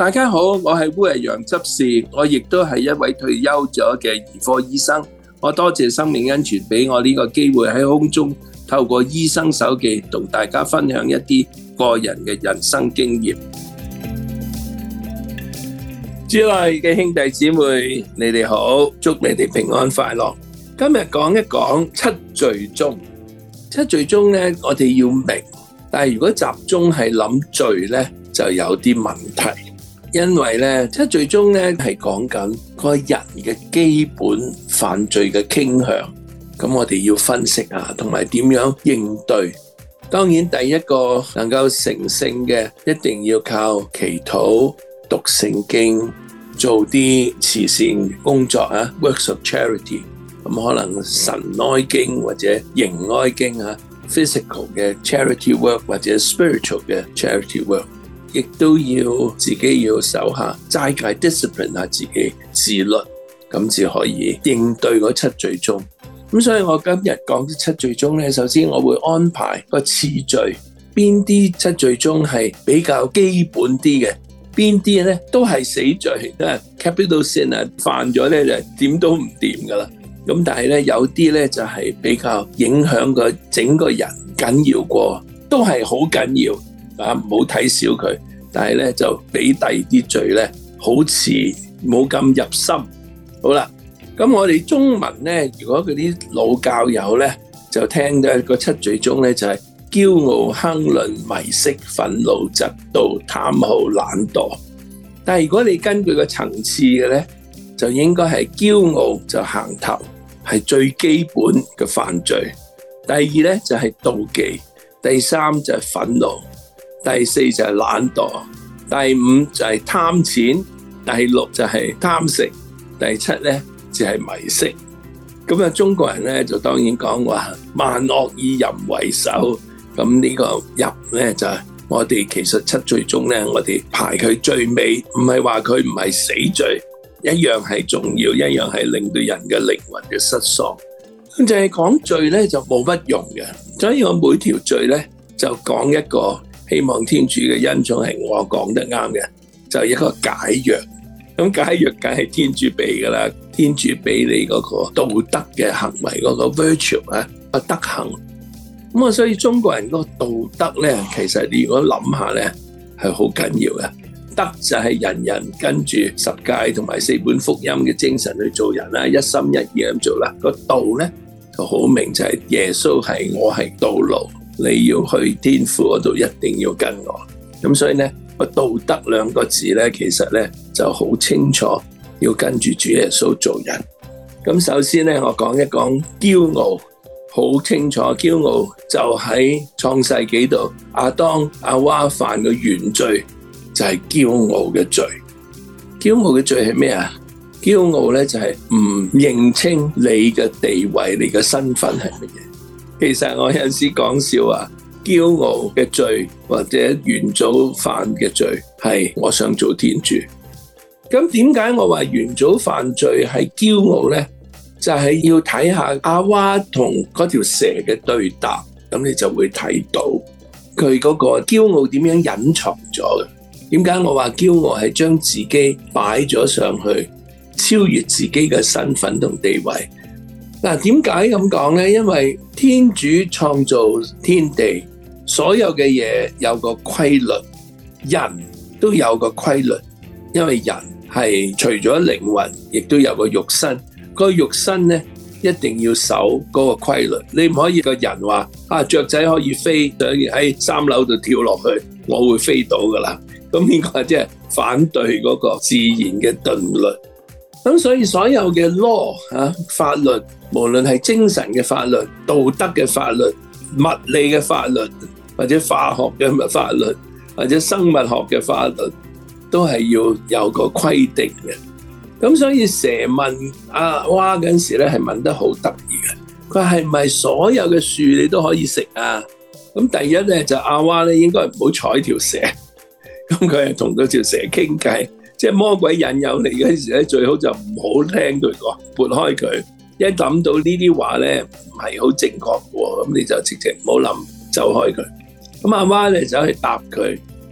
大家好，我係烏日陽執事，我亦都係一位退休咗嘅兒科醫生。我多謝生命恩泉俾我呢個機會喺空中透過醫生手記同大家分享一啲個人嘅人生經驗。主內嘅兄弟姊妹，你哋好，祝你哋平安快樂。今日講一講七罪宗。七罪宗呢，我哋要明，但係如果集中係諗罪呢，就有啲問題。因為咧，七罪宗咧係講緊個人嘅基本犯罪嘅傾向，咁我哋要分析下，同埋點樣應對。當然，第一個能夠成聖嘅，一定要靠祈禱、讀聖經、做啲慈善工作啊 ，works of charity。咁可能神哀經或者形哀經啊 ，physical 嘅 charity work 或者 spiritual 嘅 charity work。亦都要自己要守下齋戒 discipline 下自己自律，咁至可以應對嗰七罪宗。咁所以我今日講啲七罪宗咧，首先我會安排個次序，邊啲七罪宗係比較基本啲嘅，邊啲咧都係死罪，都係 capital sin 啊，犯咗咧就點都唔掂噶啦。咁但係咧有啲咧就係比較影響個整個人緊要過，都係好緊要。唔好睇小佢，但係咧就比第二啲罪咧好似冇咁入心。好啦，咁我哋中文咧，如果嗰啲老教友咧就聽到個七罪宗咧就係驕傲、亨吝、迷色、憤怒、嫉妒、貪好、懶惰。但係如果你根據個層次嘅咧，就應該係驕傲就行頭，係最基本嘅犯罪。第二咧就係妒忌，第三就係憤怒。第四就係懶惰，第五就係貪錢，第六就係貪食，第七咧就係迷色。咁啊，中國人咧就當然講話萬惡以淫為首。咁呢個淫咧就係我哋其實七罪宗咧，我哋排佢最尾，唔係話佢唔係死罪，一樣係重要，一樣係令到人嘅靈魂嘅失喪。咁就係講罪咧就冇乜用嘅，所以我每條罪咧就講一個。希望天主嘅恩寵係我講得啱嘅，就係一個解藥。咁解藥梗係天主俾噶啦，天主俾你嗰個道德嘅行為嗰個 virtue 啊，個德行。咁啊，所以中國人嗰個道德咧，其實你如果諗下咧，係好緊要嘅。德就係人人跟住十誡同埋四本福音嘅精神去做人啦，一心一意咁做啦。個道咧就好明，就係耶穌係我係道路。你要去天父嗰度，一定要跟我。咁所以呢個道德兩個字呢，其實呢就好清楚，要跟住主耶穌做人。咁首先呢，我講一講驕傲，好清楚。驕傲就喺創世紀度，亞當夏娃犯嘅原罪就係驕傲嘅罪。驕傲嘅罪係咩啊？驕傲呢就係唔認清你嘅地位，你嘅身份係乜嘢。其實我有陣時講笑話，驕傲嘅罪或者元祖犯嘅罪係我想做天主。咁點解我話元祖犯罪係驕傲呢？就係要睇下阿娃同嗰條蛇嘅對答，咁你就會睇到佢嗰個驕傲點樣隱藏咗嘅。點解我話驕傲係將自己擺咗上去，超越自己嘅身份同地位？嗱，點解咁講呢？因為天主創造天地，所有嘅嘢有個規律，人都有個規律。因為人係除咗靈魂，亦都有個肉身。個肉身呢，一定要守嗰個規律。你唔可以個人話雀仔可以飛，想喺3樓度跳落去，我會飛到噶啦。咁呢個即係反對嗰個自然嘅定律。咁所以所有嘅 law 法律，無論係精神嘅法律、道德嘅法律、物理嘅法律，或者化學嘅法律，或者生物學嘅法律，都係要有個規定嘅。咁所以蛇問阿娃嗰陣時咧，係問得好得意嘅。佢係咪所有嘅樹你都可以食啊？咁第一咧就阿娃咧應該唔好睬條蛇。咁佢係同嗰條蛇傾偈。即係魔鬼引誘你嗰陣時咧，最好就唔好聽佢講，撥開佢。一諗到呢啲話咧唔係好正確嘅，咁你就直接唔好諗，走開佢。咁阿媽咧走去答佢，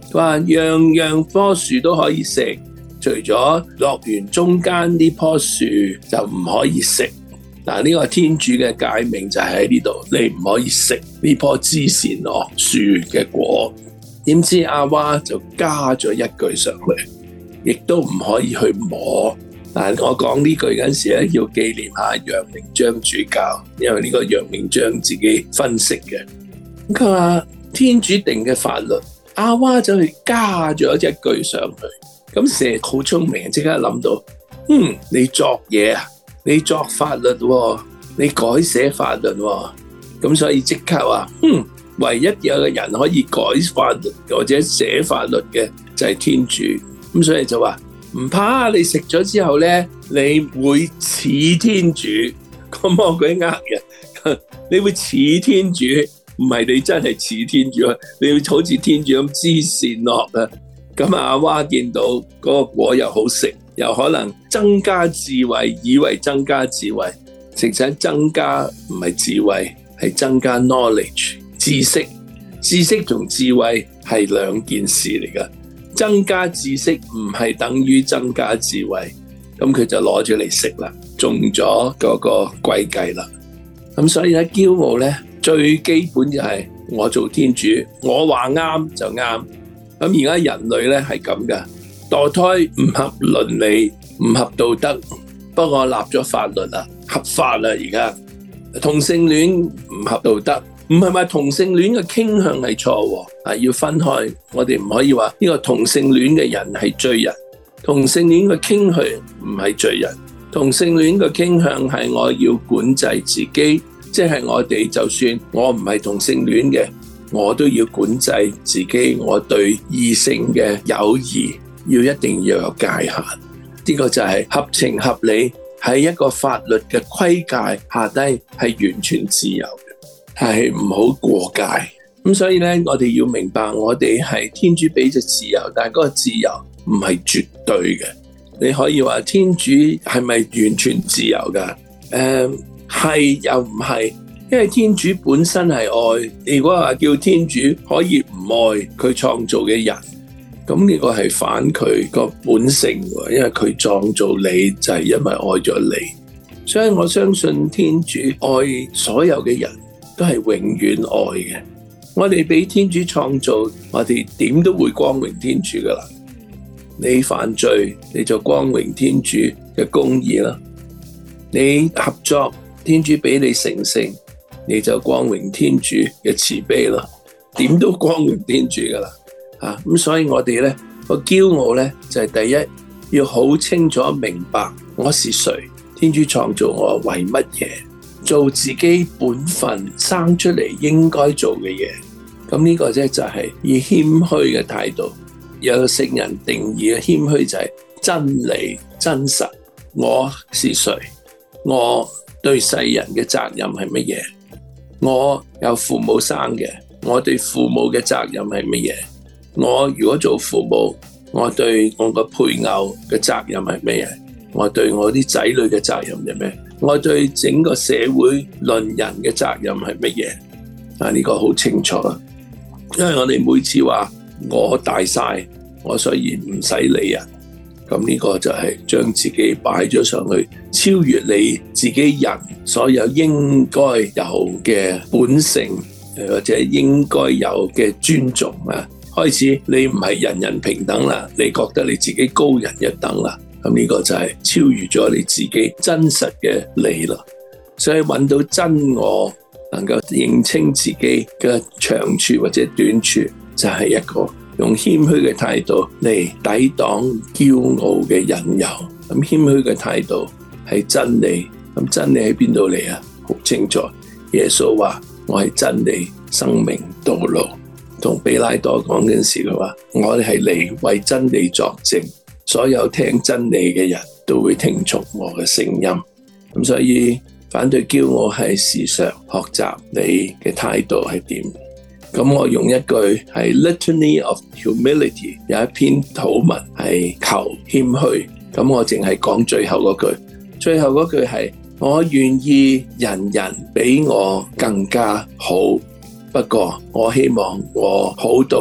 佢話樣樣棵樹都可以食，除咗樂園中間呢棵樹就唔可以食。嗱，呢個天主嘅誡命就係喺呢度，你唔可以食呢棵知善惡樹嘅果。點知阿娃就加咗一句上去，亦都唔可以去摸。但係我講呢句嗰陣時咧，要紀念下楊明章主教，因為呢個楊明章自己分析嘅。佢話天主定嘅法律，阿娃就去加咗一句上去。咁蛇好聰明，即刻諗到，你作嘢啊，你作法律喎，你改寫法律喎。咁所以即刻話，唯一有個人可以改法律或者寫法律嘅就係天主。咁所以就話唔怕，你食咗之後咧，你會似天主。個魔鬼呃人，你會似天主，唔係你真係似天主，你會好似天主咁知善惡啊。咁阿娃見到嗰個果又好食，又可能增加智慧，以為增加智慧，實際增加唔係智慧，係增加 knowledge 知識。知識同智慧係兩件事嚟㗎。增加知識唔係等於增加智慧，咁佢就攞咗嚟食啦，中咗嗰個詭計啦。咁所以咧，驕傲咧最基本就係我做天主，我話啱就啱。咁而家人類咧係咁噶，墮胎唔合倫理，唔合道德，不過立咗法律啦，合法啦。而家同性戀唔合道德，唔係話同性戀嘅傾向係錯，要分開。我哋唔可以話呢個同性戀嘅人係罪人，同性戀嘅傾向唔係罪人，同性戀嘅傾向係我要管制自己，即係我哋就算我唔係同性戀嘅，我都要管制自己，我對異性嘅友誼一定要有界限。呢個就係合情合理，喺一個法律嘅規界下低係完全自由嘅，係唔好過界。咁所以咧，我哋要明白，我哋係天主俾咗自由，但係嗰個自由唔係絕對嘅。你可以話天主係咪完全自由噶？係又唔係？因為天主本身係愛，如果話叫天主可以唔愛佢創造嘅人，咁呢個係反佢個本性，因為佢創造你就係因為愛咗你，所以我相信天主愛所有嘅人都係永遠愛嘅。我哋俾天主創造，我哋點都會光榮天主噶啦。你犯罪，你就光榮天主嘅公義啦；你合作，天主俾你成聖，你就光榮天主嘅慈悲啦，點都光榮天主噶啦。咁所以我哋咧個驕傲咧就係第一，要好清楚明白我是誰，天主創造我為乜嘢，做自己本分生出嚟應該做嘅嘢。咁呢個就係以謙虛嘅態度。有個聖人定義嘅謙虛就係真理真實。我是誰？我對世人嘅責任係乜嘢？我有父母生嘅，我對父母嘅責任係乜嘢？我如果做父母，我對我個配偶嘅責任係乜嘢？我對我啲仔女嘅責任係咩？我對整個社會論人嘅責任係乜嘢？呢個好清楚啦。因為我哋每次話我大晒，我所以唔使理人，咁呢個就係將自己擺咗上去，超越你自己人所有應該有嘅本性，或者應該有嘅尊重啊。開始你唔係人人平等啦，你覺得你自己高人一等啦，咁呢個就係超越咗你自己真實嘅你啦。所以揾到真我，能夠認清自己嘅長處或者短處，就係一個用謙虛嘅態度嚟抵擋驕傲嘅引誘。咁謙虛嘅態度係真理，咁真理喺邊度嚟啊？好清楚，耶穌話我係真理、生命、道路。同彼拉多講嗰陣時佢話，我哋係嚟為真理作證，所有聽真理嘅人都會聽從我嘅聲音。咁所以反對驕傲係時常學習你嘅態度係點。咁我用一句係 Litany of Humility， 有一篇禱文係求謙虛，咁我淨係講最後嗰句，最後嗰句係我願意人人比我更加好，不過我希望我好到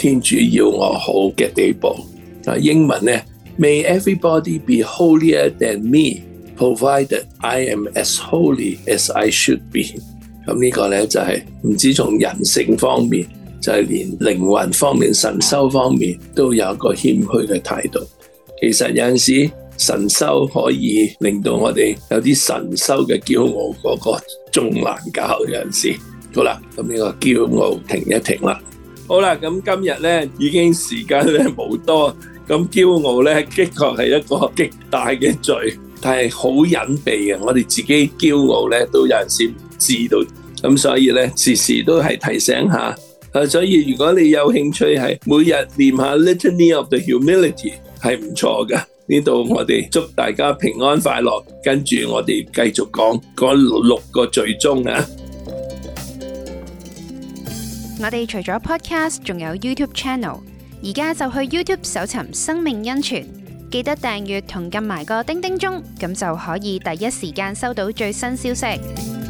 天主要我好嘅地步。英文呢 May everybody be holier than me, provided I am as holy as I should be。咁呢個呢，就係唔止從人性方面，就係連靈魂方面、神修方面都有一個謙虛嘅態度。其實有陣時神修可以令到我哋有啲神修嘅驕傲，嗰個仲難搞。有陣時好啦，咁呢個驕傲停一停啦。好啦，咁今日呢已經時間呢冇多，咁驕傲呢的確係一個極大嘅罪，但係好隱秘嘅，我哋自己驕傲呢都有陣時唔知道，咁所以呢時時都係提醒下。所以如果你有興趣係每日念下 Litany of the Humility 係唔錯㗎。呢度我哋祝大家平安快樂，跟住我哋繼續講嗰6個罪宗啊！ 我哋除咗 podcast， 仲有 YouTube channel， 而家就去 YouTube 搜尋生命恩泉，記得訂閱同撳埋個叮叮鐘，咁就可以第一時間收到最新消息。